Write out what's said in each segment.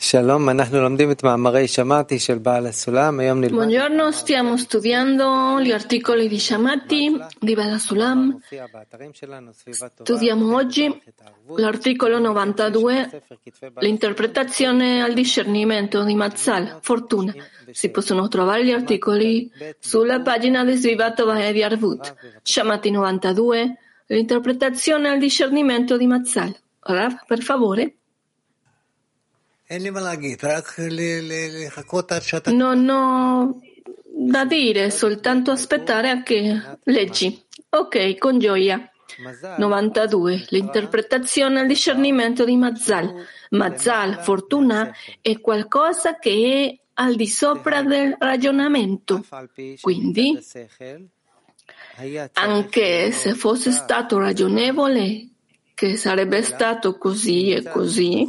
Buongiorno, stiamo studiando gli articoli di Shamati di Baal HaSulam. Studiamo oggi l'articolo 92, l'interpretazione al discernimento di Mazzal, fortuna. Si possono trovare gli articoli sulla pagina di Svivat Vahedi Arvut. Shamati 92, l'interpretazione al discernimento di Mazzal. Rav, per favore. Non ho da dire, soltanto aspettare a che leggi. Ok, con gioia. 92. L'interpretazione al discernimento di Mazzal. Mazzal, fortuna, è qualcosa che è al di sopra del ragionamento. Quindi, anche se fosse stato ragionevole, che sarebbe stato così e così,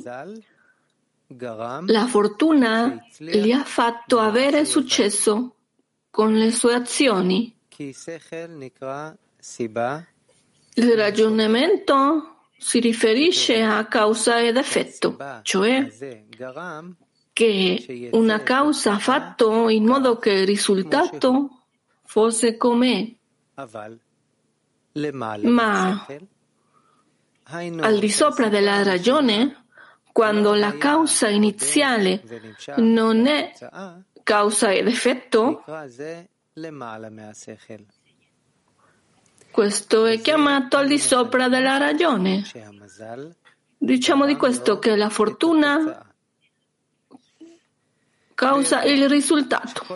la fortuna gli ha fatto avere successo con le sue azioni. Il ragionamento si riferisce a causa ed effetto, cioè che una causa ha fatto in modo che il risultato fosse com'è, ma al di sopra della ragione, quando la causa iniziale non è causa ed effetto, questo è chiamato al di sopra della ragione. Diciamo di questo che la fortuna causa il risultato.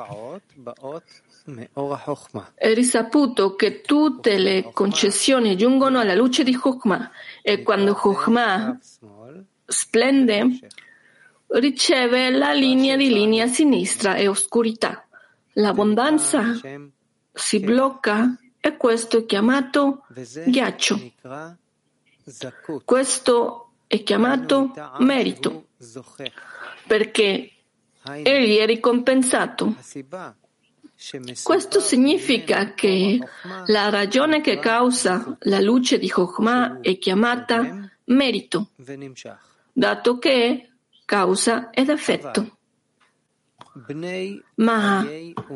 È risaputo che tutte le concessioni giungono alla luce di Chokhmah e quando Chokhmah splende, riceve la linea sinistra e oscurità. L'abbondanza si blocca e questo è chiamato ghiaccio. Questo è chiamato merito, perché egli è ricompensato. Questo significa che la ragione che causa la luce di Chokhmah è chiamata merito, dato che è causa ed effetto. Ma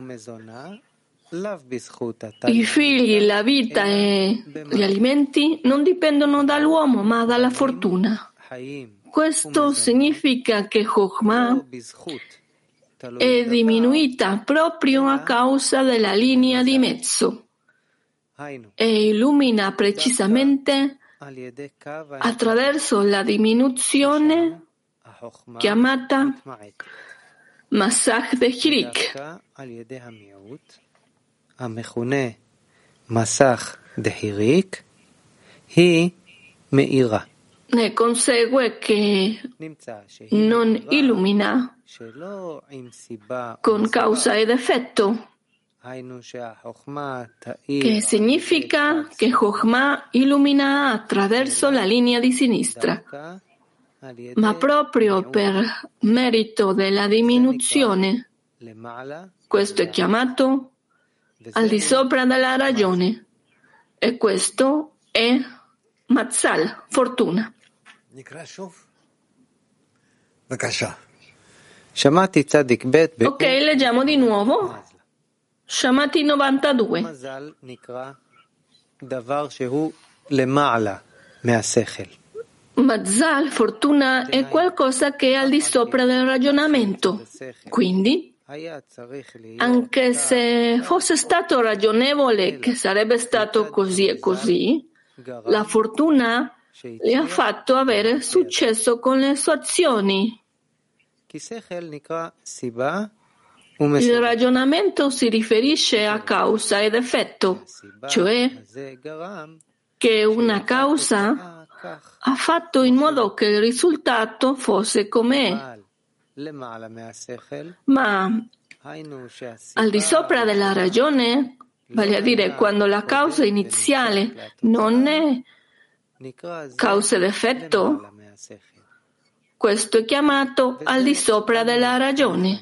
i figli, la vita e gli alimenti non dipendono dall'uomo, ma dalla fortuna. Questo significa che Chokhmah è diminuita proprio a causa della linea di mezzo e illumina precisamente attraverso la diminuzione chiamata Masach de Hirik. Ne consegue che non illumina con causa ed effetto, che significa che Chokhmah illumina attraverso la linea di sinistra, ma proprio per merito della diminuzione. Questo è chiamato al di sopra della ragione e questo è Mazzal, fortuna. Ok, leggiamo di nuovo. Shamati 92. Mazzal, fortuna, è qualcosa che è al di sopra del ragionamento. Quindi, anche se fosse stato ragionevole che sarebbe stato così e così, la fortuna gli ha fatto avere successo con le sue azioni. Il ragionamento si riferisce a causa ed effetto, cioè che una causa ha fatto in modo che il risultato fosse com'è, ma al di sopra della ragione, vale a dire quando la causa iniziale non è causa ed effetto, questo è chiamato al di sopra della ragione.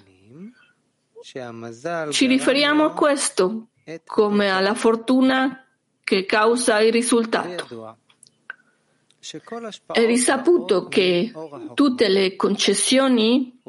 Ci riferiamo a questo come alla fortuna che causa il risultato. È risaputo che tutte le concessioni,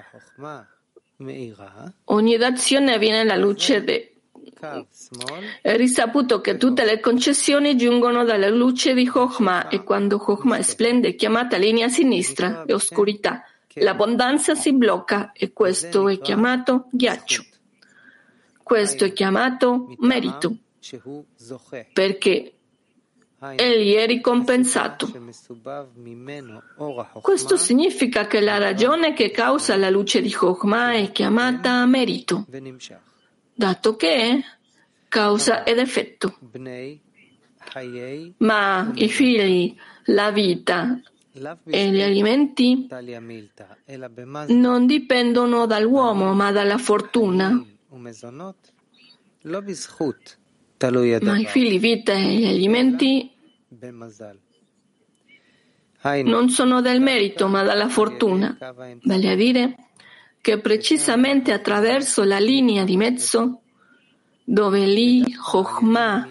ogni d'azione viene la luce È risaputo che tutte le concessioni giungono dalla luce di Chokhmah e quando Chokhmah splende è chiamata linea sinistra e oscurità. L'abbondanza si blocca e questo è chiamato ghiaccio. Questo è chiamato merito, perché egli è ricompensato. Questo significa che la ragione che causa la luce di Chokhmah è chiamata merito, dato che è causa ed effetto. Ma i figli, la vita e gli alimenti non dipendono dall'uomo, ma dalla fortuna. Ma i figli, vita e gli alimenti non sono del merito, ma dalla fortuna. Vale a dire che precisamente attraverso la linea di mezzo, dove lì Chokhmah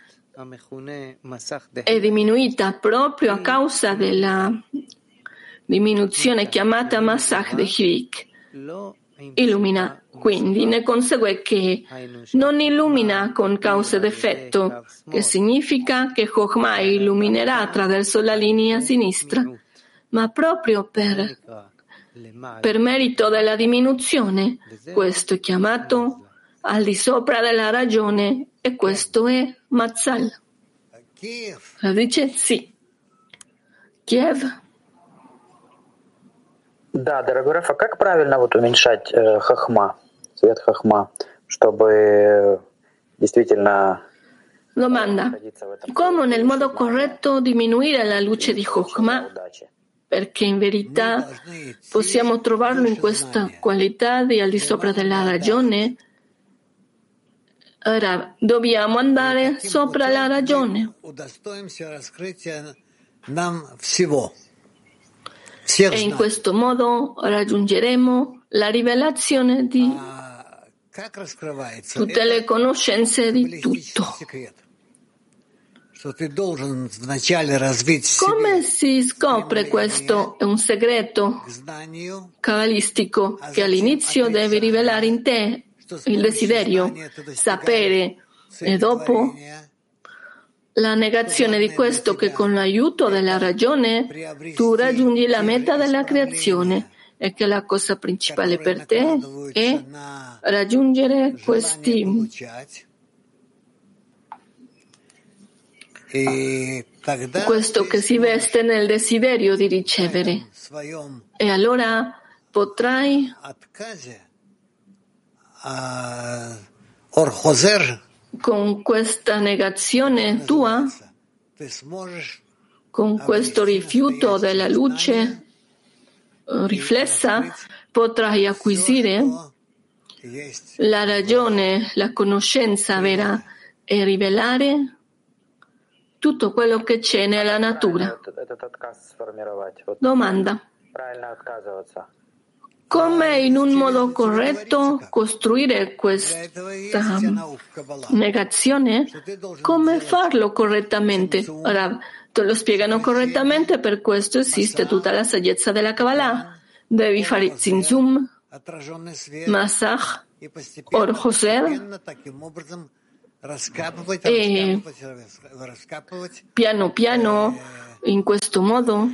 è diminuita proprio a causa della diminuzione chiamata Masach de Hivik, illumina. Quindi ne consegue che non illumina con causa ed effetto, che significa che Chokhmah illuminerà attraverso la linea sinistra, ma proprio per merito della diminuzione. Questo è chiamato al di sopra della ragione e questo è Mazzal. Dice sì. Kiev. Да, дорогой Раф, а как правильно уменьшать хохма, свет хохма, чтобы действительно... Domanda. Come nel modo corretto diminuire la luce di Chokhmah? Perché in verità possiamo trovarlo in questa qualità di al di sopra della ragione? Ora dobbiamo andare sopra la ragione. E in questo modo raggiungeremo la rivelazione di tutte le conoscenze di tutto. Come si scopre questo? È un segreto cabalistico che all'inizio devi rivelare in te il desiderio, sapere, e dopo la negazione di questo che con l'aiuto della ragione tu raggiungi la meta della creazione e che la cosa principale per te è raggiungere questi questo che si veste nel desiderio di ricevere e allora potrai con questa negazione tua, con questo rifiuto della luce riflessa, potrai acquisire la ragione, la conoscenza vera e rivelare tutto quello che c'è nella natura. Domanda. Come in un modo corretto costruire questa negazione? Come farlo correttamente? Ora, te lo spiegano correttamente, per questo esiste tutta la saggezza della Kabbalah. Devi fare Zinzum, Masach, Or Hoser, e piano piano, in questo modo,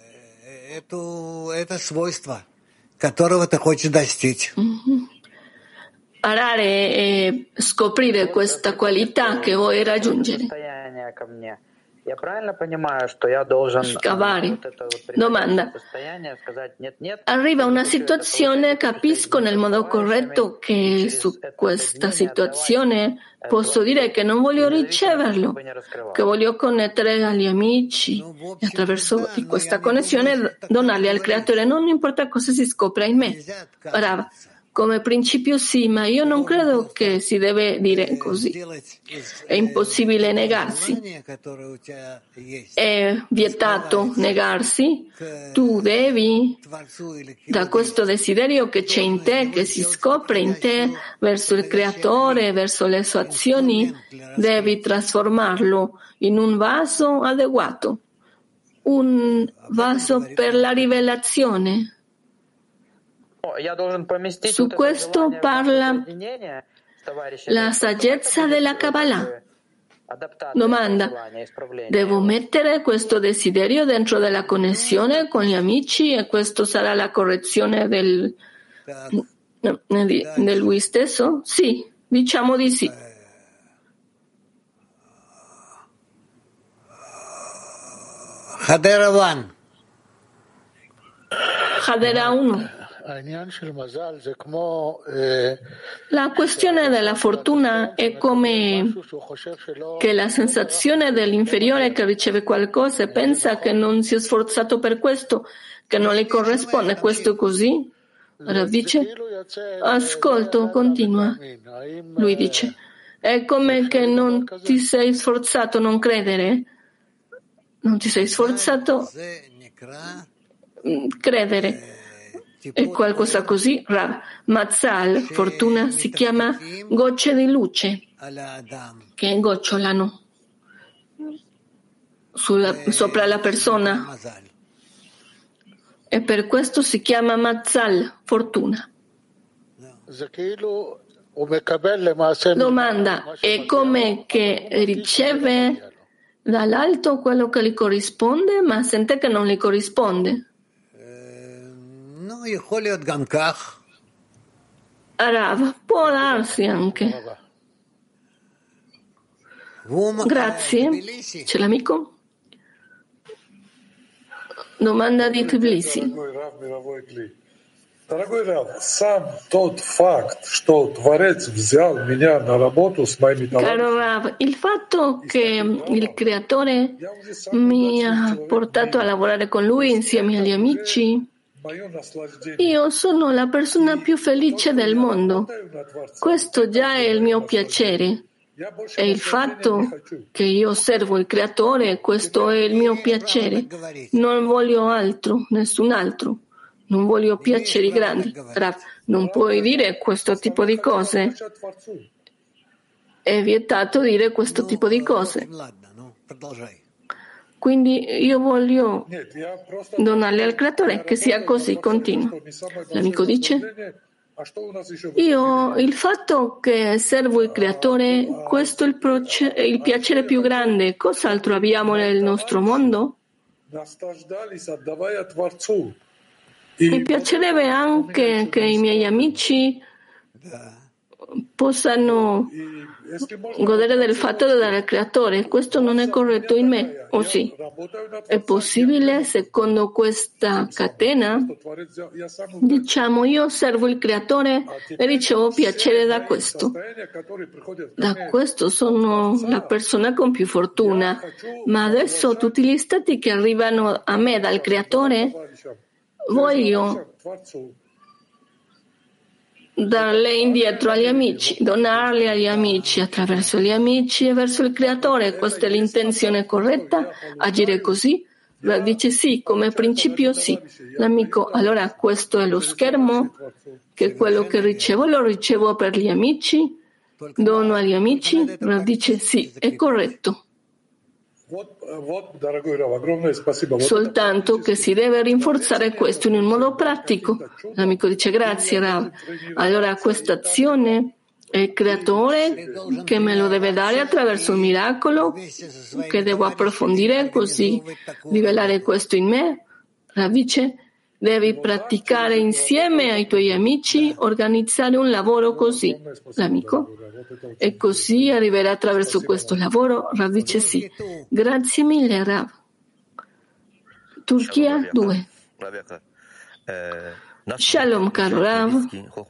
arare e scoprire questa qualità che vuoi raggiungere. Scavare. Domanda. Arriva una situazione, capisco nel modo corretto che su questa situazione posso dire che non voglio riceverlo, che voglio connettere agli amici e attraverso di questa connessione donarli al Creatore, non importa cosa si scopra in me. Ora, come principio sì, ma io non credo che si deve dire così. È impossibile negarsi. È vietato negarsi. Tu devi, da questo desiderio che c'è in te, che si scopre in te, verso il Creatore, verso le sue azioni, devi trasformarlo in un vaso adeguato un vaso per la rivelazione. Su questo parla la saggezza della Kabbalah. Domanda: devo mettere questo desiderio dentro della connessione con gli amici e questo sarà la correzione di lui stesso? Sì, diciamo di sì. Hadera 1. La questione della fortuna è come che la sensazione dell'inferiore che riceve qualcosa e pensa che non si è sforzato per questo, che non le corrisponde. Questo è così? Rav dice: ascolto, continua. Lui dice: è come che non ti sei sforzato a non credere? Non ti sei sforzato credere. È qualcosa così? Rav, Mazzal, fortuna, si chiama gocce di luce che gocciolano sopra la persona e per questo si chiama Mazzal, fortuna. Domanda: è come che riceve dall'alto quello che gli corrisponde, ma sente che non gli corrisponde? Rav, può darsi anche. Grazie. C'è l'amico? Domanda di Tbilisi. Дорогой Рав, сам тот факт, что Творец взял меня на работу с моими Caro товарищами, Rav, il fatto che il Creatore mi ha portato a lavorare con Lui insieme agli amici, мое наслаждение. io sono la persona più felice del mondo. Questo già è il mio piacere. Я больше E il наслаждения не fatto хочу. che io servo il Creatore, questo è il mio piacere. Non voglio altro, nessun altro. Non voglio piaceri grandi. Rav, non puoi dire questo tipo di cose. Хотят Творцу. È vietato dire questo tipo di cose. Quindi io voglio Нет, я просто donarle al Creatore, che sia così, continua. L'amico dice: io, il fatto che servo il Creatore, questo è il piacere più grande. Cos'altro abbiamo nel nostro mondo? наслаждались, отдавая Творцу. Mi piacerebbe anche che i miei amici possano godere del fatto di dare al Creatore. Questo non è corretto in me, o sì? È possibile, secondo questa catena? Diciamo, io servo il Creatore e ricevo piacere da questo. Da questo sono la persona con più fortuna. Ma adesso tutti gli stati che arrivano a me dal Creatore, voglio darle indietro agli amici, donarle agli amici, attraverso gli amici e verso il Creatore. Questa è l'intenzione corretta? Agire così? Dice sì, come principio sì. L'amico: allora questo è lo schermo, che quello che ricevo lo ricevo per gli amici, dono agli amici? Dice sì, è corretto. Soltanto che si deve rinforzare questo in un modo pratico. L'amico dice: grazie Rav. Allora questa azione è il Creatore che me lo deve dare attraverso un miracolo che devo approfondire, così rivelare questo in me. Rav dice: devi praticare insieme ai tuoi amici, organizzare un lavoro così. L'amico: e così arriverà attraverso questo lavoro? Rav dice sì. Grazie mille, Rav. Turchia 2. Shalom, caro Rav.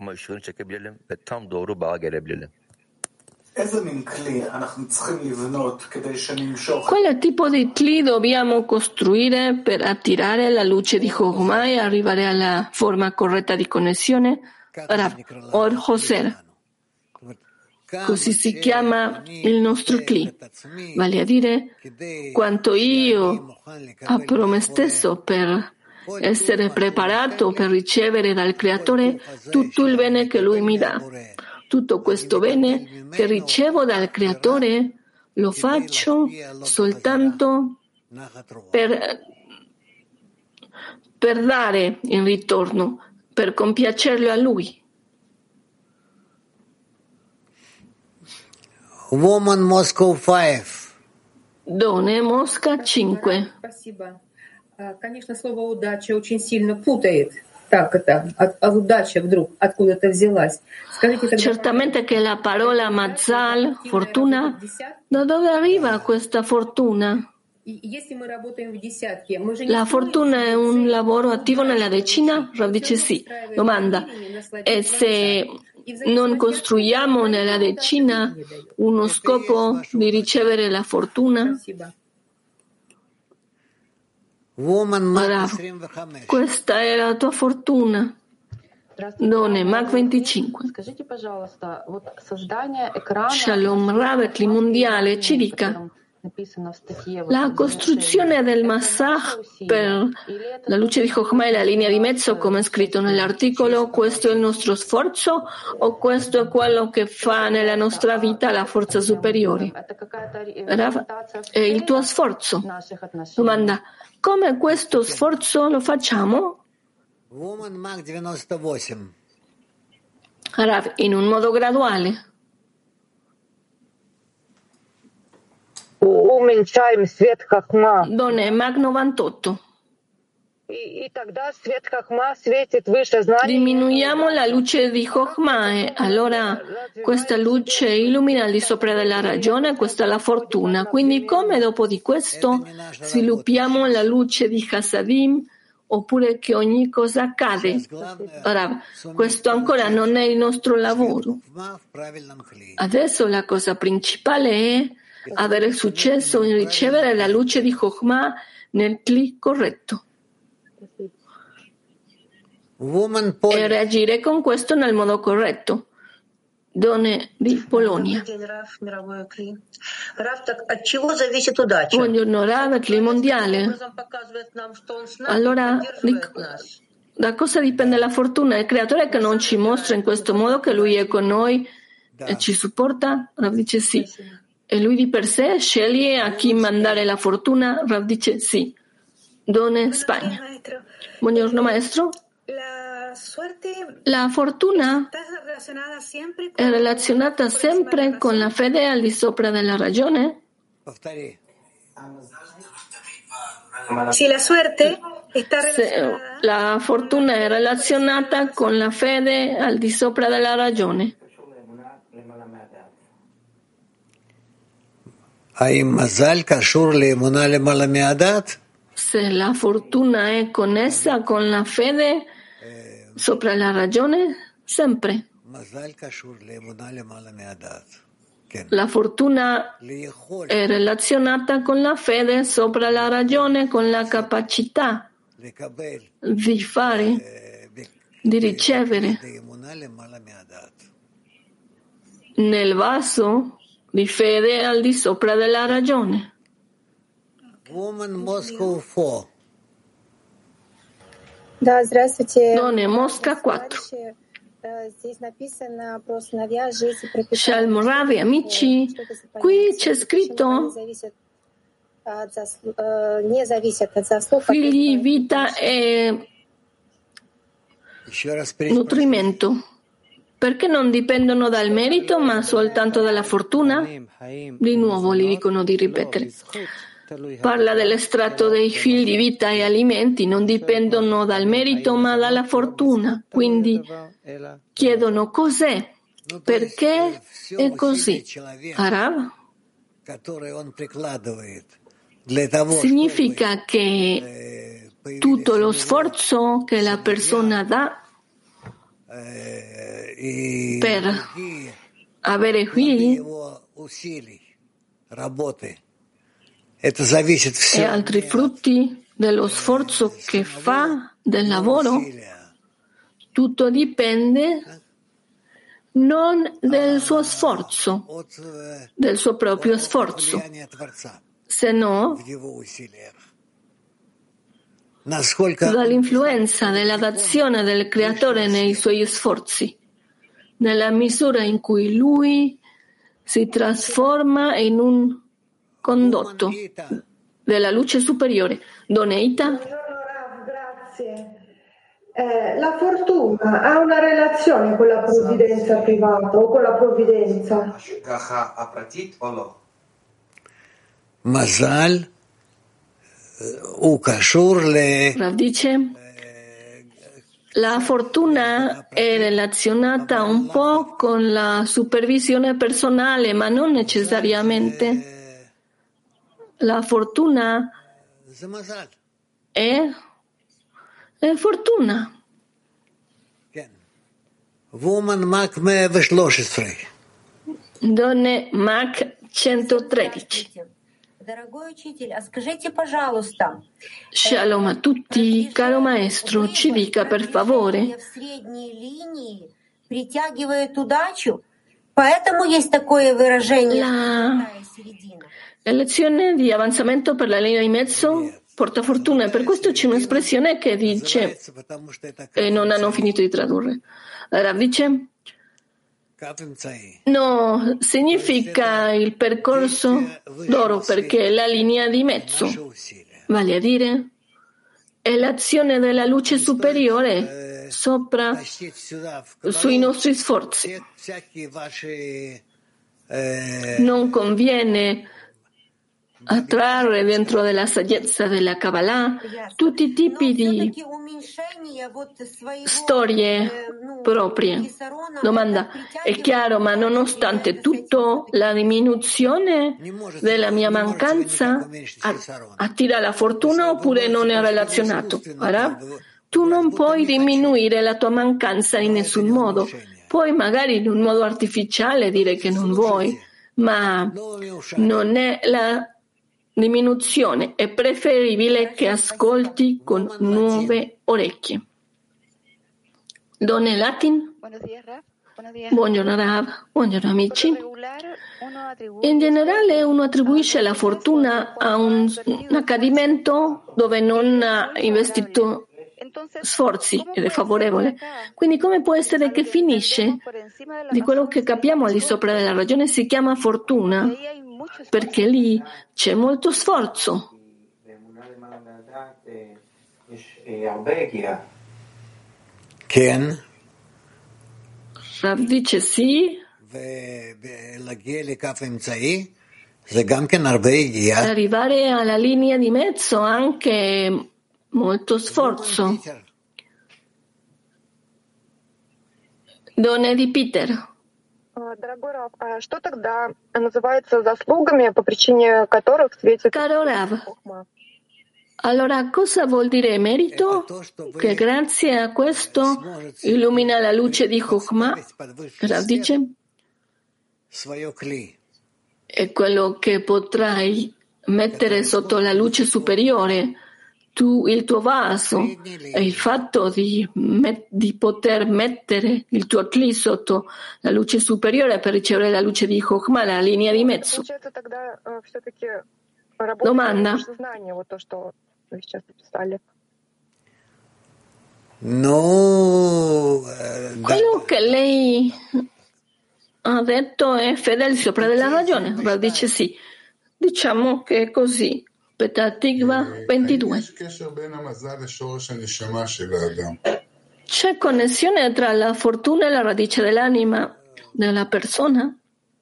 Quale tipo di cli dobbiamo costruire per attirare la luce di Chokhmah e arrivare alla forma corretta di connessione? Rav, Or Hoser. Così si chiama il nostro cli, vale a dire quanto io apro me stesso per essere preparato per ricevere dal Creatore tutto il bene che Lui mi dà. Tutto questo bene che ricevo dal Creatore lo faccio soltanto per per dare in ritorno, per compiacerlo a lui. Woman Moscow 5. Donne Mosca 5. Спасибо. Конечно, слово «удача» очень сильно путает. Так это, удача вдруг откуда-то взялась. Скажите, тогда... Certamente che la parola Mazal, fortuna, da dove arriva questa fortuna? La fortuna è un lavoro attivo nella decina? Rav dice sì. Domanda: e se non costruiamo nella decina uno scopo di ricevere la fortuna? Rav, questa è la tua fortuna. Donne, Mag 25. Shalom Ravetli mondiale ci dica: la costruzione del Massach per la luce di Chokhmah e la linea di mezzo, come è scritto nell'articolo, questo è il nostro sforzo o questo è quello che fa nella nostra vita la forza superiore? Rav, è il tuo sforzo. Domanda: come questo sforzo lo facciamo? Rav, in un modo graduale. Уменьшаем свет Хохма. Donne Mag 98. И тогда свет Хохма светит выше знаний. Diminuiamo la luce di Chokhmah e allora questa luce illumina al di sopra della ragione, questa è la fortuna. Quindi come dopo di questo sviluppiamo la luce di Hasadim oppure che ogni cosa accade? Ora, questo ancora non è il nostro lavoro. Adesso la cosa principale è avere successo in ricevere la luce di Chokhmah nel clic corretto e reagire con questo nel modo corretto. Donne di Polonia. Buongiorno Rav, il mondiale. Allora, da cosa dipende la fortuna? Il creatore che non ci mostra in questo modo che lui è con noi e ci supporta? Rav dice sì. E lui di per sé sceglie a chi mandare la fortuna? Rav dice sì. Donne Spagna. Buongiorno maestro. La fortuna è relazionata sempre con la fede al di sopra della ragione? Se la fortuna è relazionata con la fede al di sopra della ragione. Se la fortuna è connessa con la fede sopra la ragione, sempre. La fortuna è relazionata con la fede sopra la ragione, con la capacità di fare, di ricevere nel vaso di fede al di sopra della ragione. Donne Mosca 4. Shalom Rav, amici, qui c'è scritto figli, vita e nutrimento. Perché non dipendono dal merito ma soltanto dalla fortuna? Di nuovo gli dicono di ripetere. Parla dell'estratto dei figli, vita e alimenti, non dipendono dal merito ma dalla fortuna. Quindi chiedono cos'è, perché è così. Arav? Significa che tutto lo sforzo che la persona dà per avere figli e altri frutti dello sforzo che fa, del lavoro, tutto dipende non del suo sforzo, del suo proprio sforzo, se no dall'influenza della dazione del creatore nei suoi sforzi, nella misura in cui lui si trasforma in un condotto della luce superiore. Doneita? Grazie. La fortuna ha una relazione con la provvidenza privata o con la provvidenza? Mazal Rav dice, la fortuna è relazionata un po' con la supervisione personale, ma non necessariamente. La fortuna è fortuna. Woman Mac 113. Donne Mac 113. Shalom a tutti, caro maestro, ci dica per favore. La lezione di avanzamento per la linea di mezzo porta fortuna e per questo c'è un'espressione che dice, e non hanno finito di tradurre. Rav dice, no, significa il percorso d'oro perché è la linea di mezzo, vale a dire, è l'azione della luce superiore sopra sui nostri sforzi. Non conviene attrarre dentro della saggezza della Kabbalah tutti i tipi di storie proprie. Domanda, è chiaro, ma nonostante tutto la diminuzione della mia mancanza attira la fortuna oppure non è relazionato? Ora, tu non puoi diminuire la tua mancanza in nessun modo. Puoi magari in un modo artificiale dire che non vuoi, ma non è la diminuzione, è preferibile che ascolti con nuove orecchie. Donne Latin? Buongiorno Rav, buongiorno amici. In generale uno attribuisce la fortuna a un accadimento dove non ha investito sforzi ed è favorevole. Quindi come può essere che finisce di quello che capiamo al di sopra della ragione si chiama fortuna? Perché lì c'è molto sforzo. Ken? Rav dice sì. Arrivare alla linea di mezzo anche molto sforzo. Donne di Peter. Дорогой Рав, а что тогда называется заслугами, по причине которых светит Хохма? Allora, cosa vuol dire merito? Che grazie a questo illumina la luce di Chokmah. Rav dice, è quello che potrai mettere sotto la luce superiore, tu, il tuo vaso, e il fatto di poter mettere il tuo cli sotto la luce superiore per ricevere la luce di Chokmah, la linea di mezzo. Domanda. Quello che lei ha detto è fedele sopra della ragione. Rav dice sì. Diciamo che è così. Petah Tikva 22. C'è connessione tra la fortuna e la radice dell'anima della persona?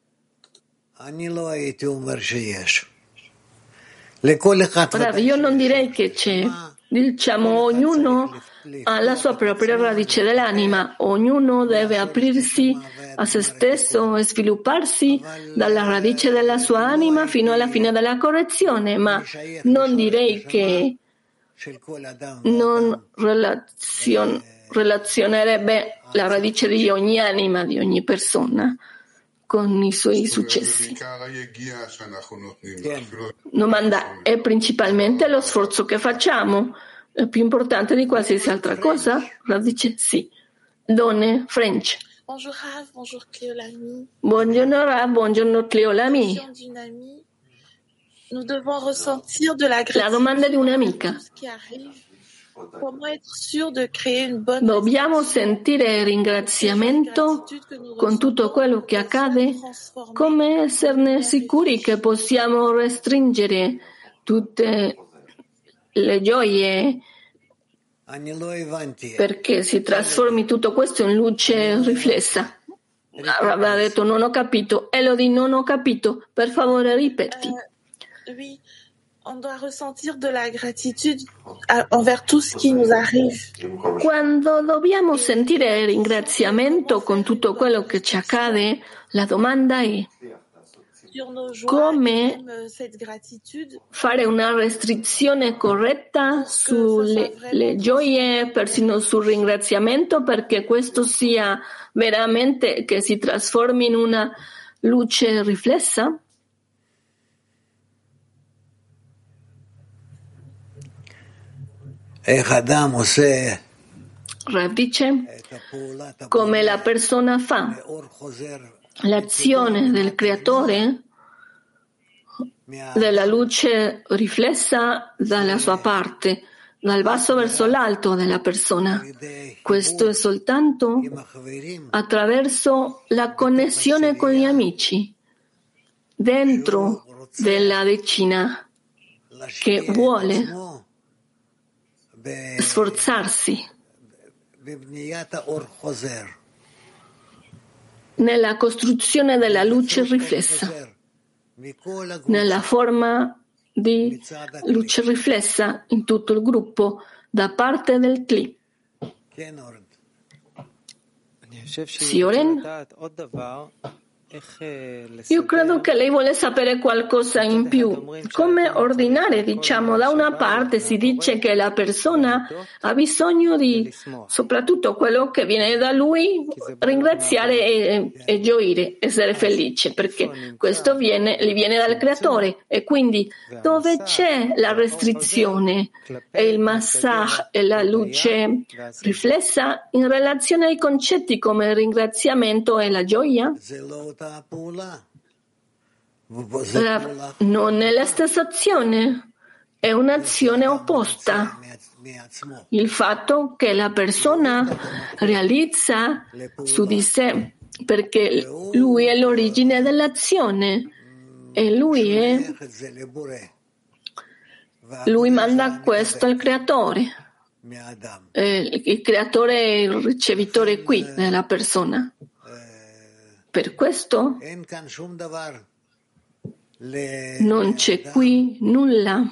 Io non direi che c'è. Diciamo, ognuno ha la sua propria radice dell'anima, ognuno deve aprirsi a se stesso e svilupparsi dalla radice della sua anima fino alla fine della correzione, ma non direi che non relazionerebbe la radice di ogni anima, di ogni persona, con i suoi successi. Domanda, è principalmente lo sforzo che facciamo, è più importante di qualsiasi altra cosa? Rav dice sì. Donne, French. Bonjour Rav, bonjour Cléolami. Buongiorno Rav, buongiorno Cléolami. Nous devons ressentir de la La domanda di un'amica. Dobbiamo sentire ringraziamento con tutto quello che accade? Come esserne sicuri che possiamo restringere tutte le gioie perché si trasformi tutto questo in luce riflessa. Aveva detto non ho capito. Elodie, non ho capito. Per favore ripeti. Oui, on doit ressentir de la gratitude envers tout ce qui nous arrive. Quando dobbiamo sentire ringraziamento con tutto quello che ci accade, la domanda è come fare una restrizione corretta sulle gioie, persino sul ringraziamento, perché questo sia veramente che si trasformi in una luce riflessa? Rav dice come la persona fa l'azione del creatore della luce riflessa dalla sua parte, dal basso verso l'alto della persona. Questo è soltanto attraverso la connessione con gli amici, dentro della decina che vuole sforzarsi nella costruzione della luce riflessa, nella forma di luce riflessa in tutto il gruppo da parte del Kli. Sì, Oren? Io credo che lei vuole sapere qualcosa in più. Come ordinare, diciamo, da una parte si dice che la persona ha bisogno di, soprattutto quello che viene da lui, ringraziare e gioire, essere felice, perché questo gli viene dal creatore. E quindi dove c'è la restrizione e il massage e la luce riflessa in relazione ai concetti come il ringraziamento e la gioia? Non è la stessa azione, è un'azione opposta. Il fatto che la persona realizza su di sé, perché lui è l'origine dell'azione e lui manda questo al creatore. Il creatore è il ricevitore qui della persona. Per questo non c'è qui nulla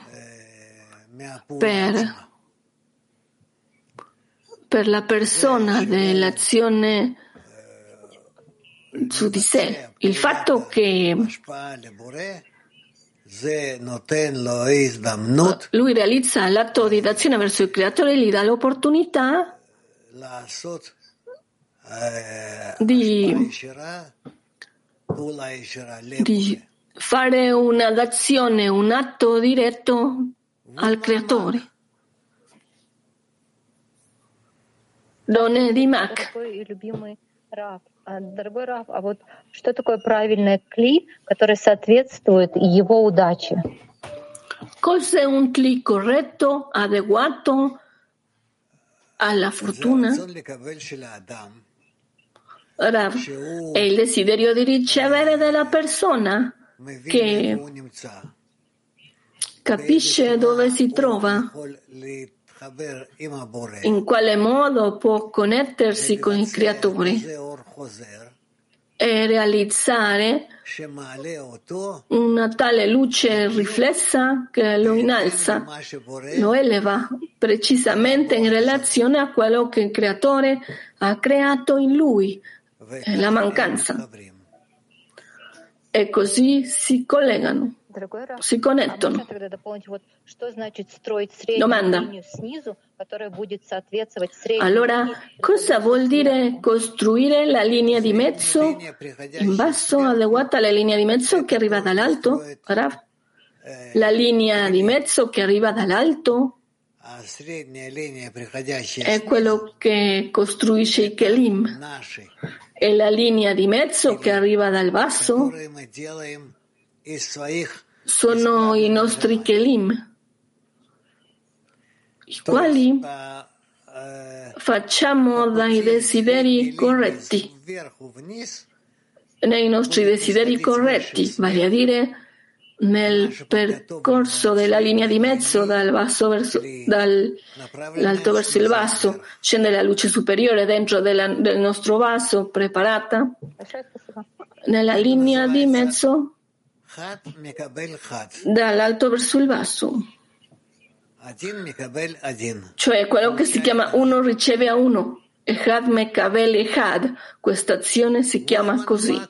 per la persona dell'azione su di sé. Il fatto che lui realizza l'atto di azione verso il creatore gli dà l'opportunità di fare una d'azione, un atto diretto al creatore. Donne di Mac. Дорогой Рав, а вот что такое правильный кли, который соответствует его удаче? Cos'è un kli corretto, adeguato alla fortuna? Rav, è il desiderio di ricevere della persona che capisce dove si trova, in quale modo può connettersi con il creatore e realizzare una tale luce riflessa che lo innalza, lo eleva precisamente in relazione a quello che il creatore ha creato in lui, la mancanza. E così si collegano, si connettono. Domanda. Allora, cosa vuol dire costruire la linea di mezzo in basso adeguata alla linea di mezzo che arriva dall'alto? Rav? La linea di mezzo che arriva dall'alto è quello che costruisce i Kelim. E la linea di mezzo che arriva dal basso sono i nostri Kelim, i quali facciamo dai desideri corretti, nei nostri desideri corretti, vale a dire nel percorso della linea di mezzo dall'alto verso il basso, scende la luce superiore dentro del nostro vaso preparata. Nella linea di mezzo dall'alto verso il basso, cioè quello che si chiama uno riceve a uno. Echad mekabel echad, questa azione si chiama così.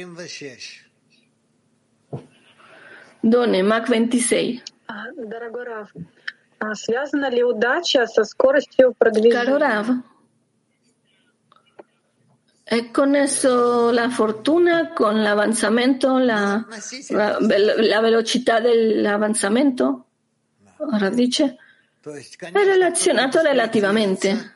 Donne, Mach 26. Caro Rav, è connesso la fortuna con l'avanzamento, la velocità dell'avanzamento? Rav dice, è relazionato relativamente.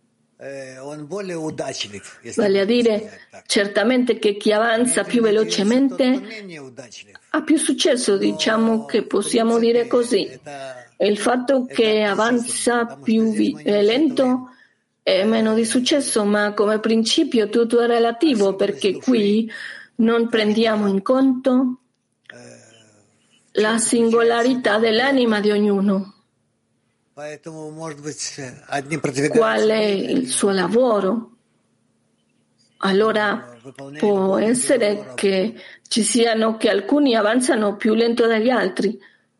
Vale a dire, certamente che chi avanza più velocemente ha più successo, diciamo che possiamo dire così. E il fatto che avanza più lento è meno di successo, ma come principio tutto è relativo, perché qui non prendiamo in conto la singolarità dell'anima di ognuno. Qual è il suo lavoro? Allora può essere che ci siano che alcuni avanzano più lento degli altri,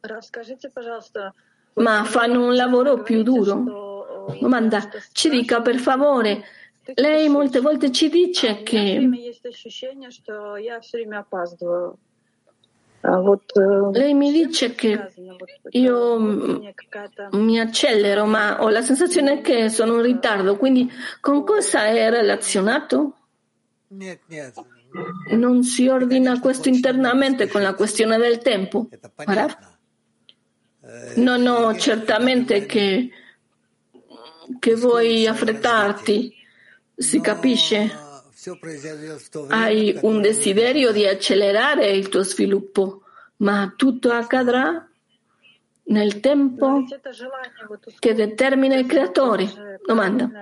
ma fanno un lavoro più duro. Domanda, ci dica per favore, lei molte volte ci dice che lei mi dice che io mi accelero, ma ho la sensazione che sono in ritardo, quindi con cosa è relazionato? Non si ordina questo internamente con la questione del tempo? No, certamente che vuoi affrettarti, si capisce. Hai un desiderio di accelerare il tuo sviluppo, ma tutto accadrà nel tempo che determina il creatore. Domanda.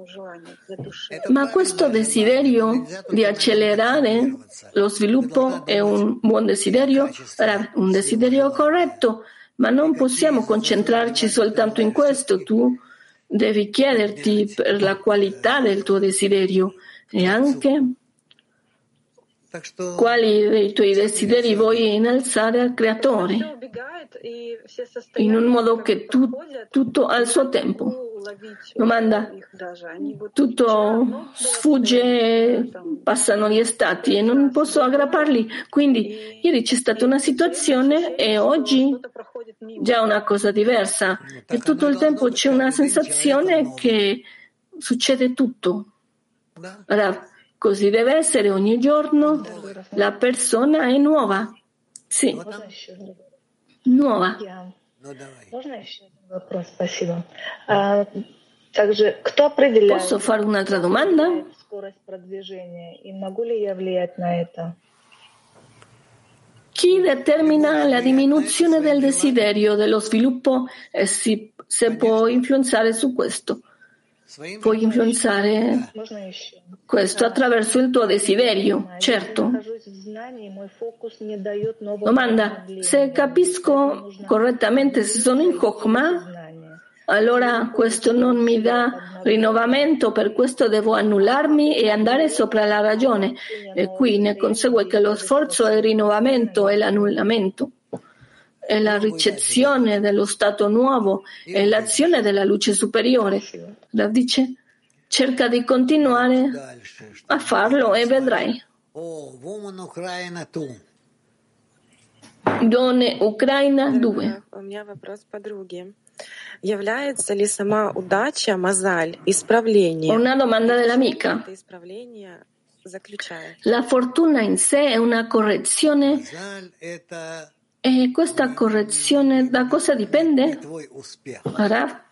Ma questo desiderio di accelerare lo sviluppo è un buon desiderio? Un desiderio corretto, ma non possiamo concentrarci soltanto in questo. Tu devi chiederti per la qualità del tuo desiderio e anche quali dei tuoi desideri vuoi innalzare al creatore, in un modo che tutto ha il suo tempo. Domanda, tutto sfugge, passano gli stati e non posso aggrapparli, quindi ieri c'è stata una situazione e oggi già una cosa diversa e tutto il tempo c'è una sensazione che succede tutto. Rav, così deve essere ogni giorno, la persona è nuova. Sì, nuova. Posso fare un'altra domanda? Chi determina la diminuzione del desiderio dello sviluppo e se può influenzare su questo? Puoi influenzare questo attraverso il tuo desiderio, certo. Domanda, se capisco correttamente, se sono in Chokhmah, allora questo non mi dà rinnovamento, per questo devo annullarmi e andare sopra la ragione. E qui ne consegue che lo sforzo è il rinnovamento e l'annullamento. È la ricezione dello stato nuovo e l'azione della luce superiore. Rav dice, cerca di continuare a farlo e vedrai. Donne Ucraina 2. Una domanda dell'amica. La fortuna in sé è una correzione? E questa correzione da cosa dipende? Rav?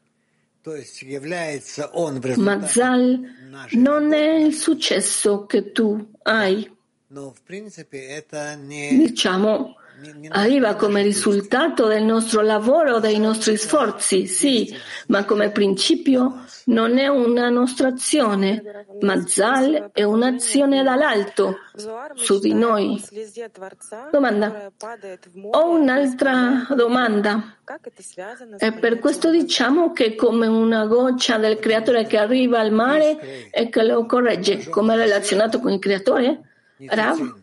Mazal non è il successo che tu hai. Diciamo, arriva come risultato del nostro lavoro, dei nostri sforzi, sì, ma come principio non è una nostra azione. Mazzal è un'azione dall'alto su di noi. Domanda. Ho un'altra domanda. E per questo diciamo che è come una goccia del creatore che arriva al mare e che lo corregge, come è relazionato con il creatore? Rav?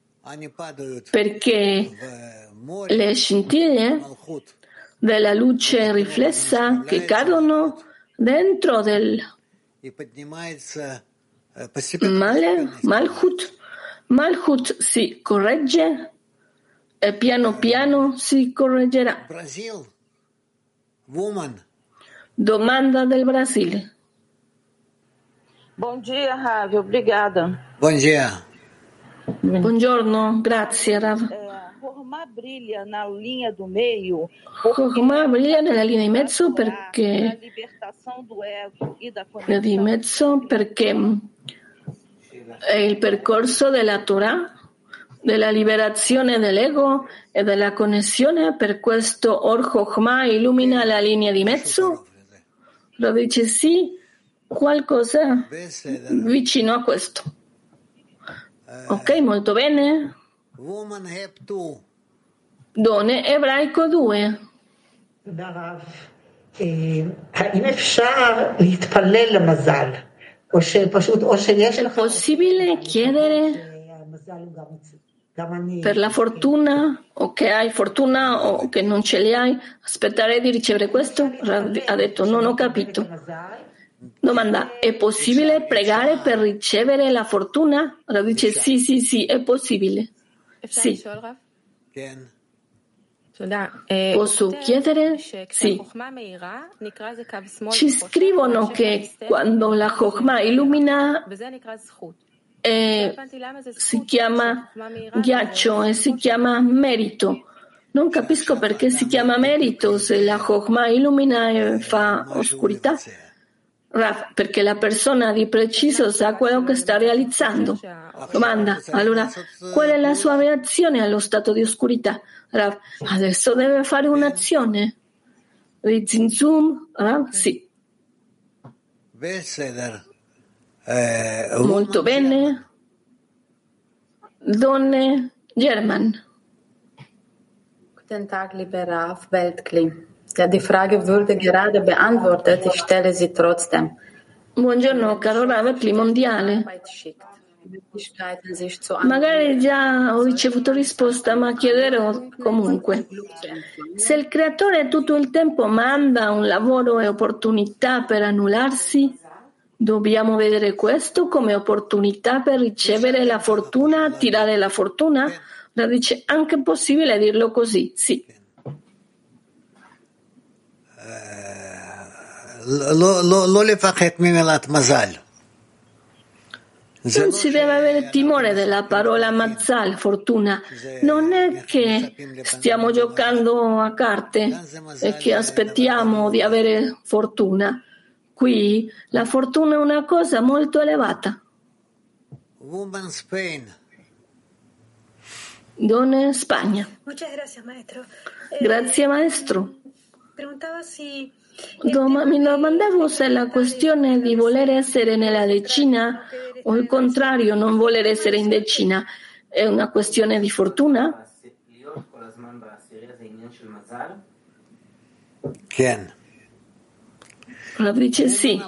Perché le scintille della luce riflessa che cadono dentro del Malchut si corregge e piano piano si correggerà. Domanda del Brasile. Bom dia, Rav. Obrigada. Buongiorno, grazie Rav. Chokhmah brilha na linha do meio. Chokhmah brilha nella linea di mezzo perché è il percorso della Torah, della liberazione dell'ego e della connessione. Per questo Or Chokhmah illumina la linea di mezzo. Lo dice sì, qualcosa vicino a questo. Ok, molto bene. Done ebraico 2. È possibile chiedere per la fortuna, o che hai fortuna o che non ce li hai, aspettare di ricevere questo? Ha detto non ho capito. Domanda, è possibile pregare per ricevere la fortuna? Allora dice sì, è possibile. Sì. Posso chiedere? Sì. Ci scrivono che quando la Chokhmah illumina si chiama ghiaccio e si chiama merito. Non capisco perché si chiama merito se la Chokhmah illumina e fa oscurità. Rav, perché la persona di preciso sa quello che sta realizzando. Domanda, allora, qual è la sua reazione allo stato di oscurità? Rav, adesso deve fare un'azione. Di zinzum, Rav, sì. Molto bene. Donne German. Guten Tag, lieber Rav Weltkli. Ja, die Frage wurde gerade beantwortet, ich stelle sie trotzdem. Buongiorno, caro Rav Mondiale. Magari già ho ricevuto risposta, ma chiederò comunque. Se il creatore tutto il tempo manda un lavoro e opportunità per annullarsi, dobbiamo vedere questo come opportunità per ricevere la fortuna, attirare la fortuna? La dice anche possibile dirlo così, sì. Non si deve avere timore della parola Mazzal, fortuna. Non è che stiamo giocando a carte e che aspettiamo di avere fortuna. Qui la fortuna è una cosa molto elevata. Donne Spagna. Grazie maestro. Mi domandavo se la questione di voler essere nella decina o il contrario, non voler essere in decina, è una questione di fortuna? La dice sì.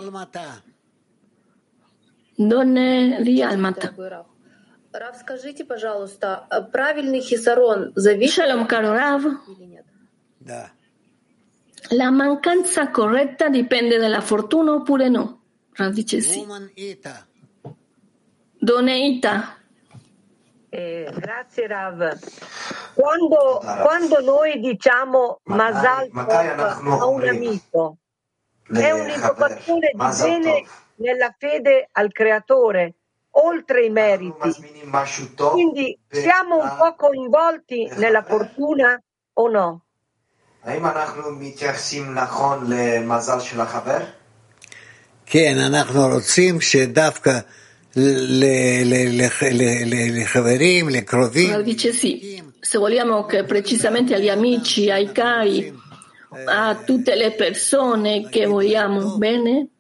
Donne di Almata. Shalom, caro Rav. La mancanza corretta dipende dalla fortuna oppure no? Rav dice sì. Donne Ita. Grazie Rav. Quando noi diciamo Mazal Tov a un amico, è un'invocazione di bene nella fede al creatore, oltre i meriti. Quindi siamo un po' coinvolti nella fortuna o no? כן, אנחנו רוצים שדווקא לחברים, לקרובים. Dice sì, se vogliamo che precisamente agli amici, ai cari, a tutte le persone che vogliamo bene,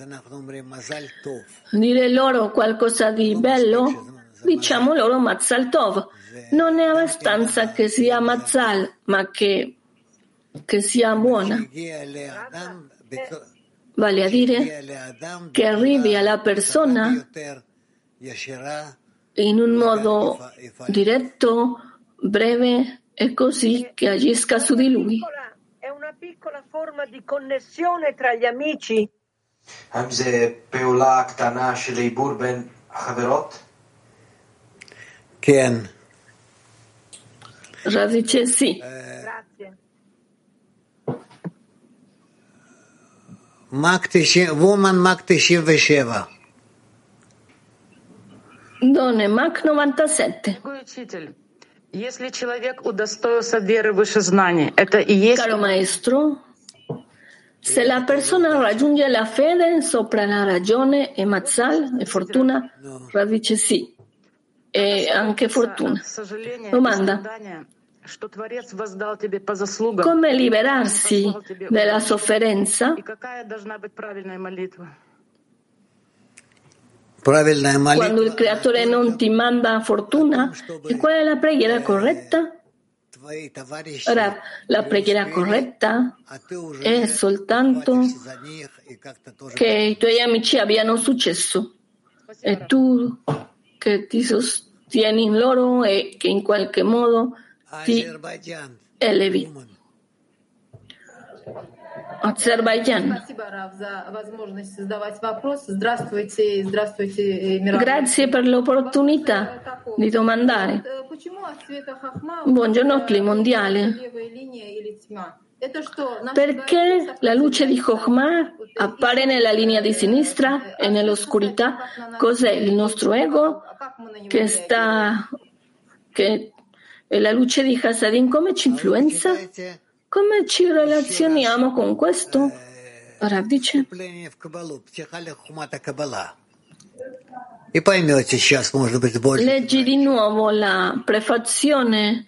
dire loro qualcosa di bello, diciamo loro Mazzal Tov. Non è abbastanza che sia Mazzal, ma che sia buona. Vale a dire che arrivi alla persona in un modo diretto, breve e così che agisca su di lui. È una piccola forma di connessione tra gli amici. Ken. Rav dice sì. Grazie. Woman Mak 97. Donne Mach 97. Caro maestro, se la persona raggiunge la fede sopra la ragione e Mazzal e fortuna, Rav dice sì, e anche fortuna. Domanda: come liberarsi dalla sofferenza? Quando il creatore non ti manda fortuna, e qual è la preghiera corretta? Ora, la preghiera corretta è soltanto che i tuoi amici abbiano successo e tu che ti sostieni in loro e che in qualche modo ti elevi. Azerbaijan. Grazie per l'opportunità di domandare. Buongiorno Cli mondiale. Perché la luce di Chokhmah appare nella linea di sinistra e nell'oscurità? Cos'è il nostro ego che è la luce di Hasadim? Come ci influenza? Come ci relazioniamo con questo? Rav dice: leggi di nuovo la prefazione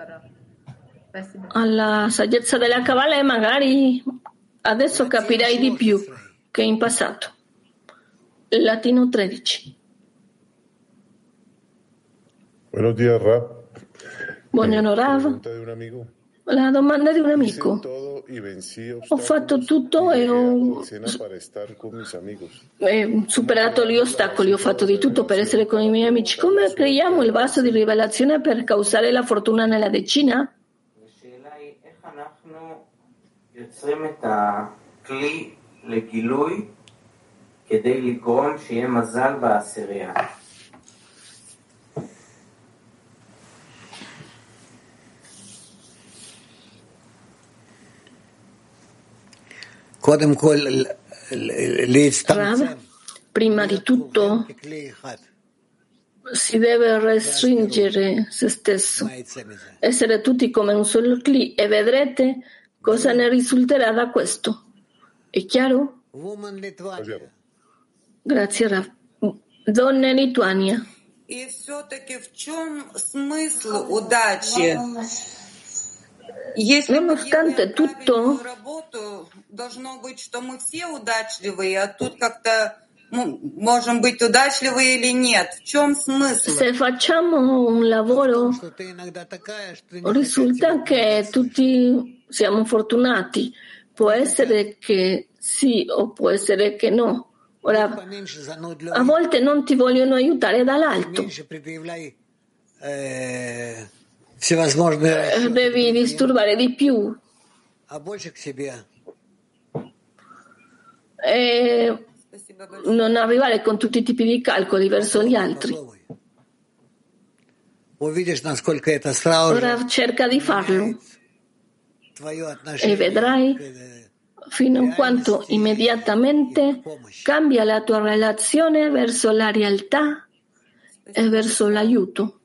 alla saggezza della Kabbalah e magari adesso capirai di più che in passato. Latino 13. Buenos días, Rav. Buongiorno Rav. La domanda di un amico. Ho fatto tutto e ho superato gli ostacoli, ho fatto di tutto per essere con i miei amici. Come creiamo il vaso di rivelazione per causare la fortuna nella decina? Rav, prima di tutto si deve restringere se stesso, essere tutti come un solo cli e vedrete cosa ne risulterà da questo. È chiaro? Grazie Rav. Donne Lituania. И все-таки в чем смысл удачи? Если мы делаем правильную работу, должно быть, что мы все удачливые, а тут как-то можем быть удачливы или нет. В чем смысл? Se facciamo un lavoro, risulta che tutti siamo fortunati. Può essere che sì o può essere che no. Ora, a volte non ti vogliono aiutare dall'alto. Devi disturbare di più. E non arrivare con tutti i tipi di calcoli verso gli altri. Ora cerca di farlo e vedrai fino a quanto immediatamente cambia la tua relazione verso la realtà e verso l'aiuto.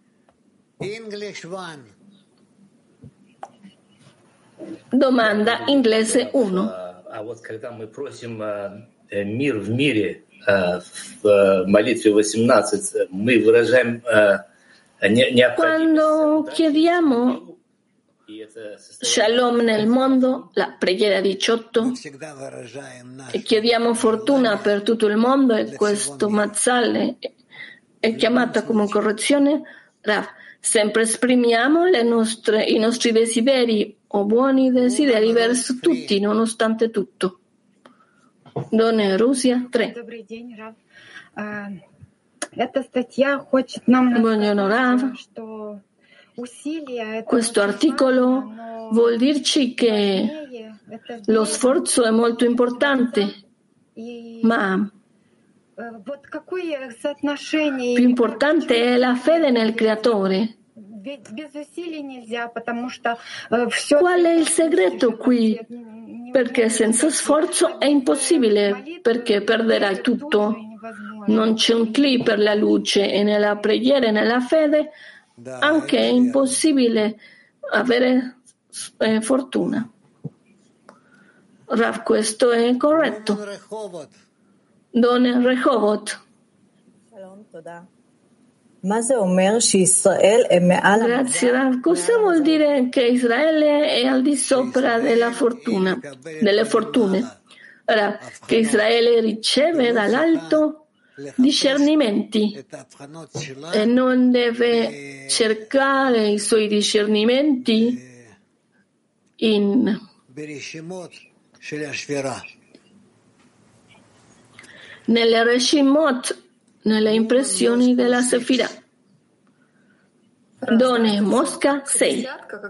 Domanda inglese 1. А вот когда мы просим мир в мире в молитве 18, мы выражаем Quando chiediamo Shalom nel mondo, la preghiera 18, e chiediamo fortuna per tutto il mondo, e questo Mazzal è chiamata come correzione, Rav, sempre esprimiamo i nostri desideri o buoni desideri verso tutti, nonostante tutto. Donne Russia 3. Buongiorno Rav. Questo articolo vuol dirci che lo sforzo è molto importante, ma più importante è la fede nel Creatore. Qual è il segreto qui? Perché senza sforzo è impossibile, perché perderai tutto. Non c'è un cli per la luce e nella preghiera e nella fede anche è impossibile avere fortuna. Rav, questo è corretto. Donne Rehovot. Grazie Rav. Cosa vuol dire che Israele è al di sopra delle fortune? Rav, che Israele riceve dall'alto discernimenti e non deve cercare i suoi discernimenti nelle Reshimot, nelle impressioni della Sefirah. Donne Mosca 6.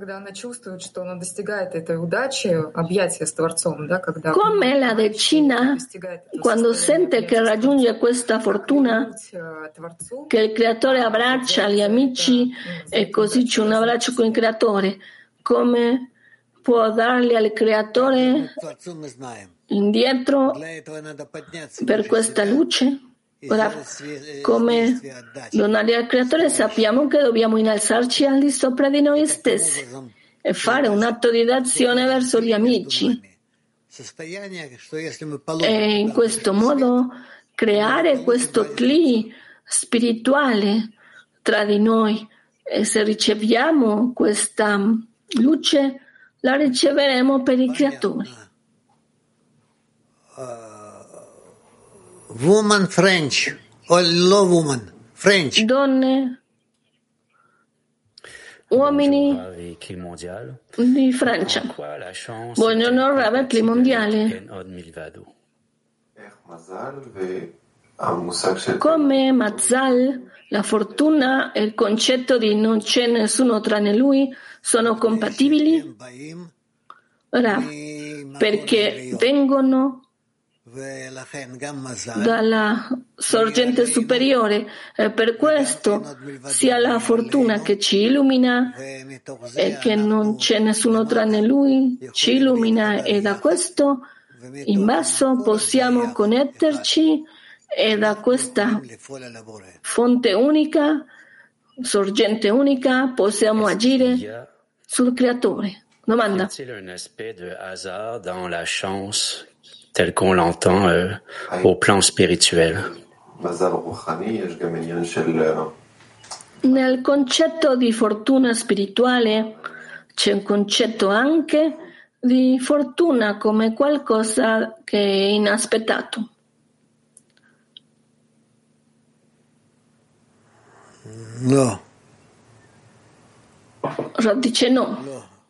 Come la decina, quando sente che raggiunge questa fortuna, che il Creatore abbraccia gli amici e così c'è un abbraccio con il Creatore, come può dargli al Creatore indietro per questa luce? Ora, come donare al Creatore, sappiamo che dobbiamo innalzarci al di sopra di noi stessi e fare un atto di d'azione verso gli amici e in questo modo creare questo cli spirituale tra di noi, e se riceviamo questa luce la riceveremo per i Creatori. Woman French o low woman French. Donne, uomini di Francia. Buongiorno Rav, Cli mondiale. Come Mazzal, la fortuna e il concetto di non c'è nessuno tranne lui sono compatibili? Rav, perché vengono dalla sorgente superiore, e per questo sia la fortuna che ci illumina e che non c'è nessuno tranne lui ci illumina, e da questo in basso possiamo connetterci e da questa fonte unica, sorgente unica, possiamo agire sul Creatore. Domanda. Tel qu'on l'entend au plan spirituel. Nel concetto di fortuna spirituale c'è un concetto anche di fortuna come qualcosa che è inaspettato. No. Dice no.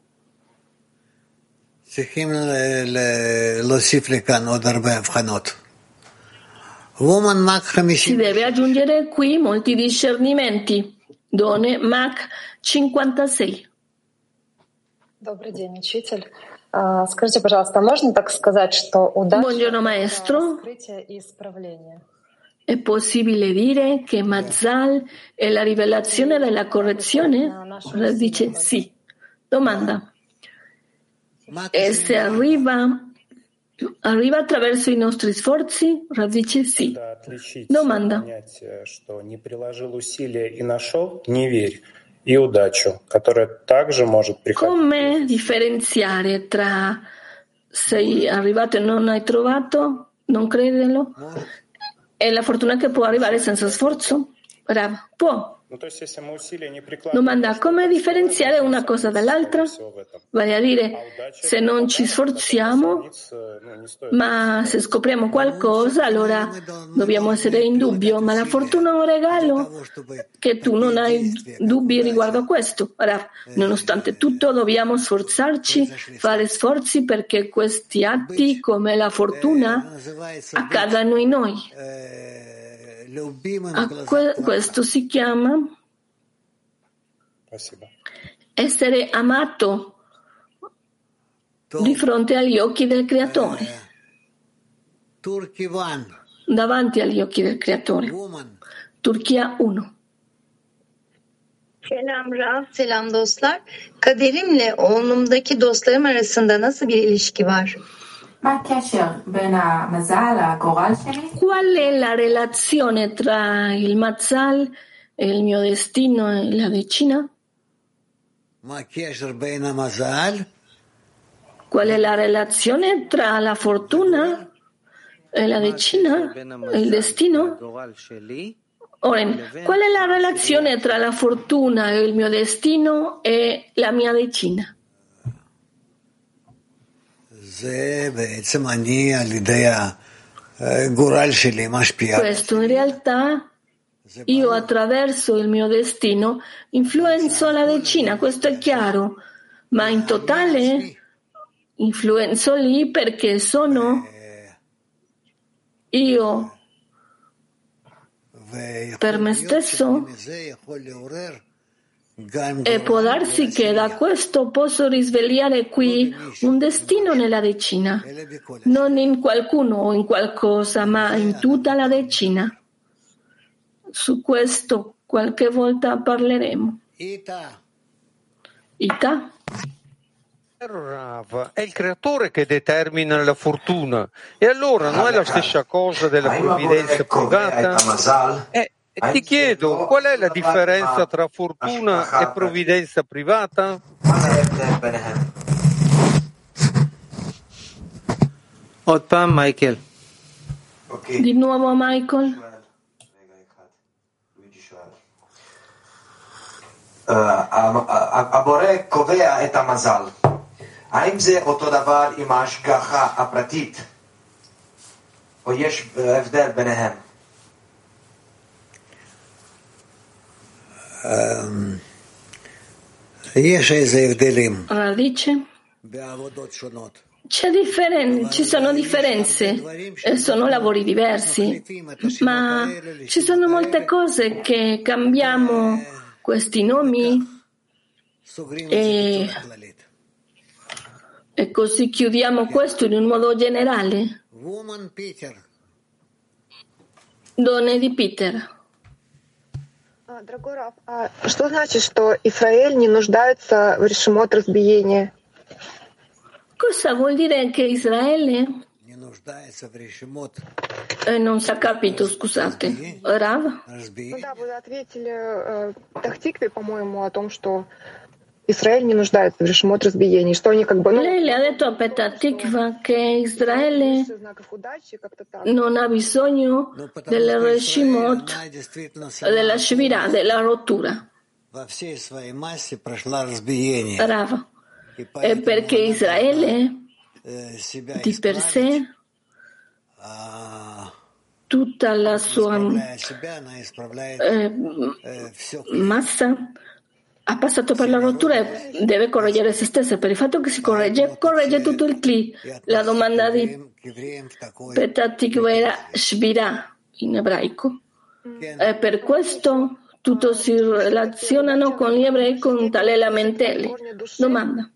צריכים להוסיף לכאן עוד הרבה הבחנות. Woman Mach 50. Si deve aggiungere qui molti discernimenti. Donne Mach 56. Добрый день, учитель. Скажите, пожалуйста, можно так сказать, что удача — Buongiorno maestro. Открытие и исправление? È possibile dire che Mazzal è la rivelazione della correzione? Dice sì. Domanda. E se arriva attraverso i nostri sforzi? Dice sì. Domanda. Come differenziare tra sei arrivato e non hai trovato, non crederlo, e la fortuna che può arrivare senza sforzo? Può. Domanda: come differenziare una cosa dall'altra? Vale a dire, se non ci sforziamo, ma se scopriamo qualcosa, allora dobbiamo essere in dubbio. Ma la fortuna è un regalo, che tu non hai dubbi riguardo a questo. Ora, nonostante tutto, dobbiamo sforzarci, fare sforzi perché questi atti, come la fortuna, accadano in noi. Questo si chiama essere amato di fronte agli occhi del Creatore, davanti agli occhi del Creatore. Turchia 1. Selam dostlar. Kaderimle oğlumdaki dostlarım arasında nasıl bir ilişki var? Qual è la relazione tra il Mazzal, il mio destino e la decina? Qual è la relazione tra la fortuna e la decina, il destino? Oren, qual è la relazione tra la fortuna e il mio destino e la mia decina? Questo in realtà io attraverso il mio destino influenzo la decina, questo è chiaro, ma in totale influenzo lì perché sono io per me stesso. E può darsi che da questo posso risvegliare qui un destino nella decina, non in qualcuno o in qualcosa, ma in tutta la decina. Su questo qualche volta parleremo. Ita. Rav, è il creatore che determina la fortuna, e allora non è la stessa cosa della provvidenza privata? Ti chiedo, qual è la differenza tra fortuna e provvidenza privata? Michael. Di nuovo Michael. הבורא קובע את המזל. האם זה אותו דבר עם ההשגחה הפרטית, או יש הבדל ביניהם? Radice. Ci sono differenze, sono lavori diversi, ma ci sono molte cose che cambiamo questi nomi e così chiudiamo questo in un modo generale. Donne di Peter. Дорогой Рав, что значит, что Израиль не нуждается в решимот разбиения? Cosa vuol dire che Israele non si è capito, scusate. Rav? Ну да, вы ответили Тахтикве, по-моему, о том, что Израиль не нуждается в решимот разбиений, что они как бы... Lei le ha detto a Petatikva che Israele non ha bisogno del Reshimot, della Shvirah, della rottura. Rav. È perché Israele di per sé tutta la sua massa ha passato per la rottura e deve correggere se stessa. Per il fatto che si corregge tutto il Kli. La domanda di Petatikva era Shvirah in ebraico. E per questo tutto si relazionano con gli ebrei con tale lamentele. Domanda.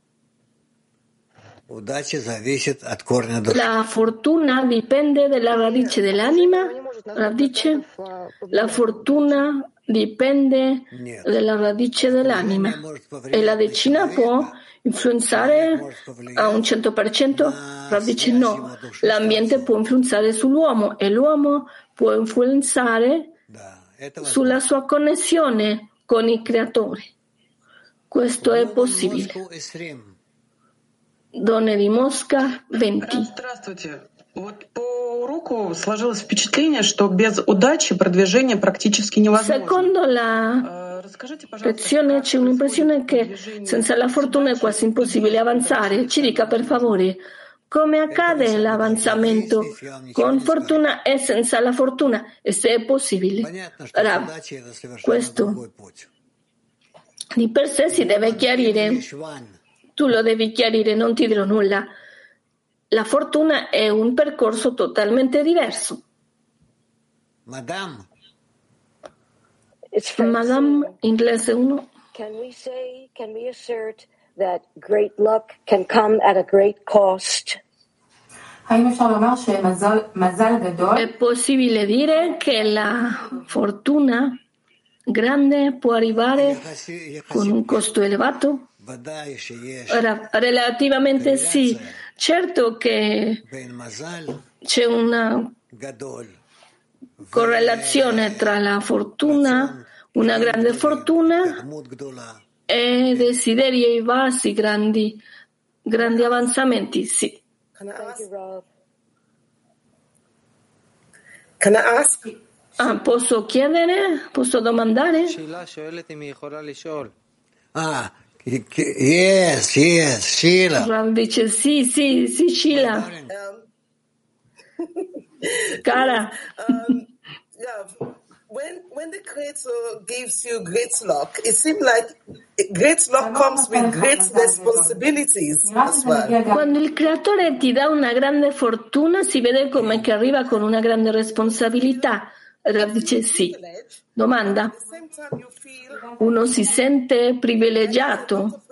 La fortuna dipende dalla radice dell'anima? Radice? La fortuna dipende dalla radice dell'anima e la decina può influenzare a un 100%? Radice no. L'ambiente può influenzare sull'uomo e l'uomo può influenzare sulla sua connessione con il Creatore. Questo è possibile. Donne di Mosca 20. Здравствуйте. Вот по уроку сложилось впечатление, что без удачи продвижение практически невозможно. Secondo la C'è un'impressione che senza la fortuna è quasi impossibile avanzare. Ci dica per favore come accade l'avanzamento con fortuna e senza la fortuna e se è possibile. Rav, questo di per sé si deve chiarire. Tu lo devi chiarire, non ti dirò nulla. La fortuna è un percorso totalmente diverso. Madame, inglese 1. Can we assert that great luck can come at a great cost? È possibile dire che la fortuna grande può arrivare con un costo elevato? Relativamente sì. Certo che c'è una correlazione tra la fortuna, una grande fortuna, e desideri vasi, grandi avanzamenti, sì. Can I ask? Posso chiedere? Posso domandare? Yes, Sheila. Rav dice sì, Sheila. Cara. When the Creator gives you great luck, it seems like great luck comes with great responsibilities as well. Quando il Creatore ti dà una grande fortuna, si vede come che arriva con una grande responsabilità. Rav dice sì. Domanda. Uno si sente privilegiato,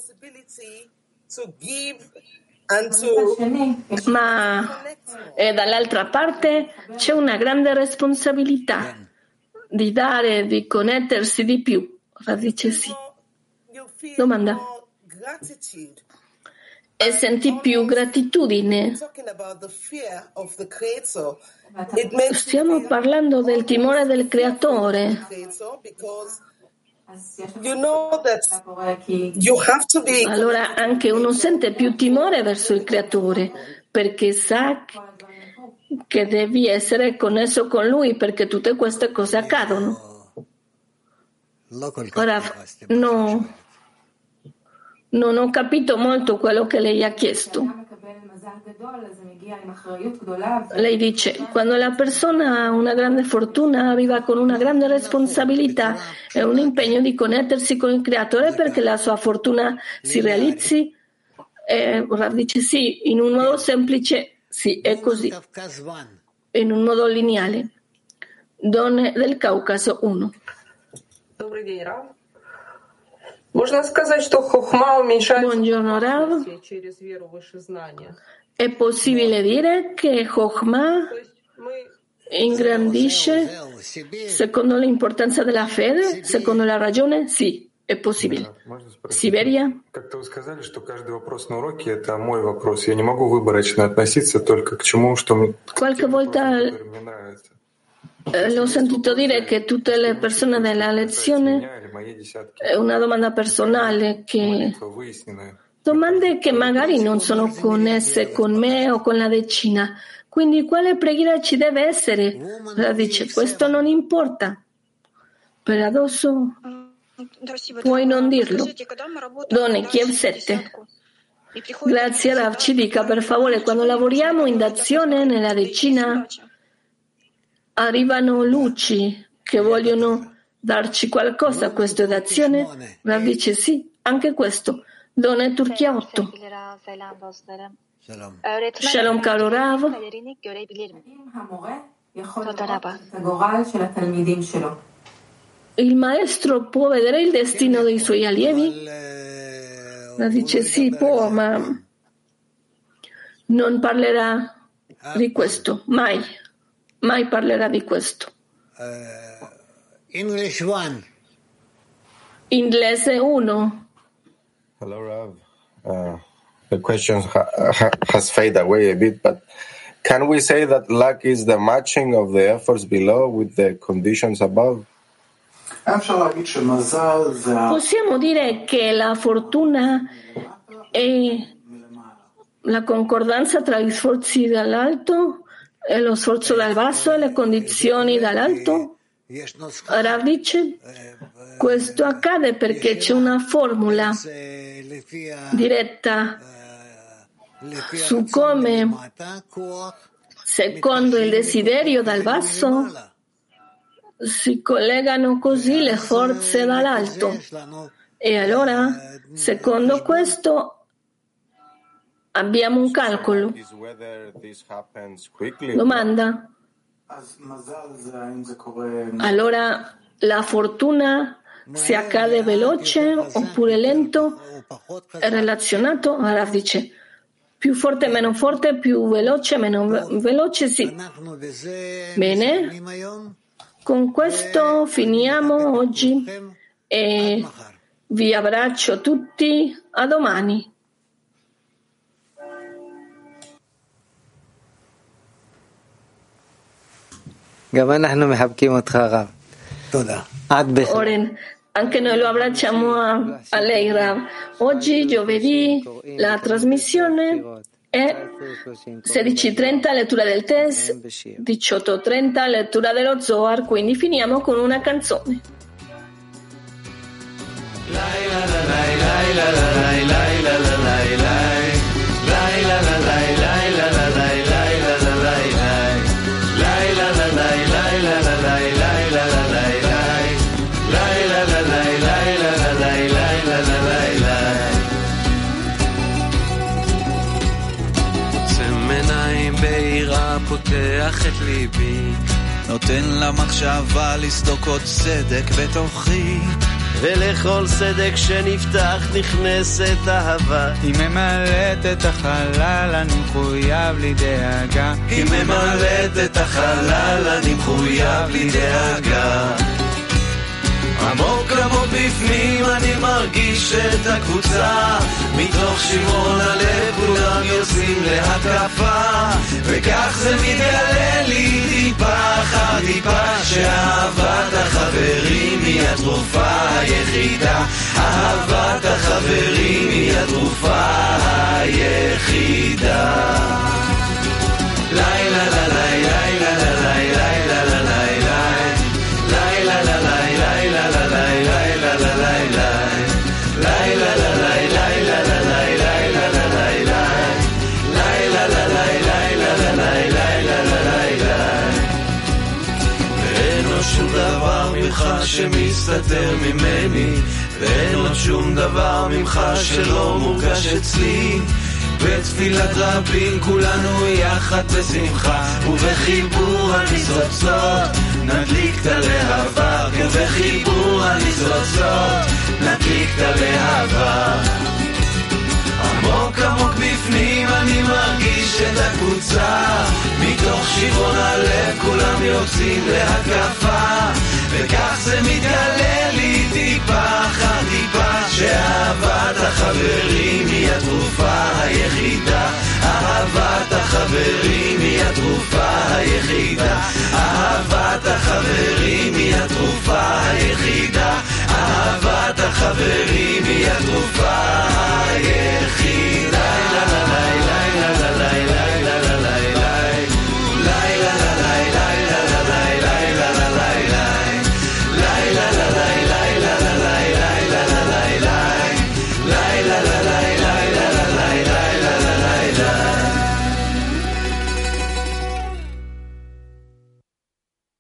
ma dall'altra parte c'è una grande responsabilità di dare, di connettersi di più. Rav dice sì. Domanda. E senti più gratitudine. Stiamo parlando del timore del Creatore. Allora anche uno sente più timore verso il Creatore perché sa che devi essere connesso con Lui perché tutte queste cose accadono. Ora non ho capito molto quello che lei ha chiesto. Lei dice, quando la persona ha una grande fortuna arriva con una grande responsabilità e un impegno di connettersi con il Creatore perché la sua fortuna si realizzi. Rav dice sì, in un modo semplice, sì, è così, in un modo lineare. Donne del Caucaso 1. Buongiorno Rav. È possibile dire che Chokhmah ingrandisce secondo l'importanza della fede, secondo la ragione? Sì, è possibile. Siberia? Как-то вы сказали, что каждый вопрос на уроке — это мой вопрос. Я не могу выборочно относиться только к чему, что мне нравится. L'ho sentito dire che tutte le persone della lezione è una domanda personale, domande che magari non sono connesse con me o con la decina. Quindi quale preghiera ci deve essere? Dice, questo non importa. Per adesso puoi non dirlo. Donne, Kiev 7. Grazie Rav, ci dica per favore, quando lavoriamo in dazione nella decina arrivano luci che vogliono darci qualcosa, questo è d'azione? Rav dice sì, anche questo. Donne Turchia 8. Shalom caro Rav. Il maestro può vedere il destino dei suoi allievi? Rav dice sì, può, ma non parlerà di questo, mai parlerà di questo. English 1. Inglese 1. Hello, Rav. The question has faded away a bit, but can we say that luck is the matching of the efforts below with the conditions above? Possiamo dire che la fortuna è la concordanza tra gli sforzi dall'alto e lo sforzo dal basso e le condizioni dall'alto? Rav dice, questo accade perché c'è una formula diretta su come, secondo il desiderio dal basso, si collegano così le forze dall'alto. E allora, secondo questo, abbiamo un calcolo. Domanda. Allora, la fortuna si accade veloce oppure lento? È relazionato? Rav dice, più forte, meno forte, più veloce, meno veloce, sì. Bene, con questo finiamo oggi e vi abbraccio tutti, a domani. Oren, anche noi lo abbracciamo a lei, Rav. Oggi, giovedì, la trasmissione è 16:30 lettura del test, 18:30 lettura dello Zohar, quindi finiamo con una canzone. פותח את ליבי, נותן למחשבה לסדוק עוד צדק בתוכי, ולכל סדק שנפתח נכנסת אהבה. היא ממלאת את החלל, אני מחויב לי דאגה. היא ממלאת את החלל, אני מחויב לי דאגה. עמוק עמוק בפנים אני מרגיש את הקבוצה, מתוך שמרון הלב כולם יוצאים להתקפה, וכך זה מתגלה לי טיפה אחר טיפה, שאהבת החברים היא התרופה היחידה. אהבת החברים היא התרופה היחידה. לילה לילה לילה לילה לילה לילה שמסתתר ממני, ואין עוד שום דבר ממך שלא מורגש אצלי. בתפילת רבים כולנו יחד בשמחה, ובחיבור הניצוצות נדליק את הלהבה, ובחיבור הניצוצות נדליק את הלהבה. עמוק עמוק בפנים אני מרגיש את הקבוצה, מתוך שברון הלב כולם יוצאים להתקפה, וכך זה מתגלה לי טיפה אחר טיפה, שאהבת החברים היא התרופה היחידה. אהבת החברים היא התרופה היחידה. אהבת החברים היא התרופה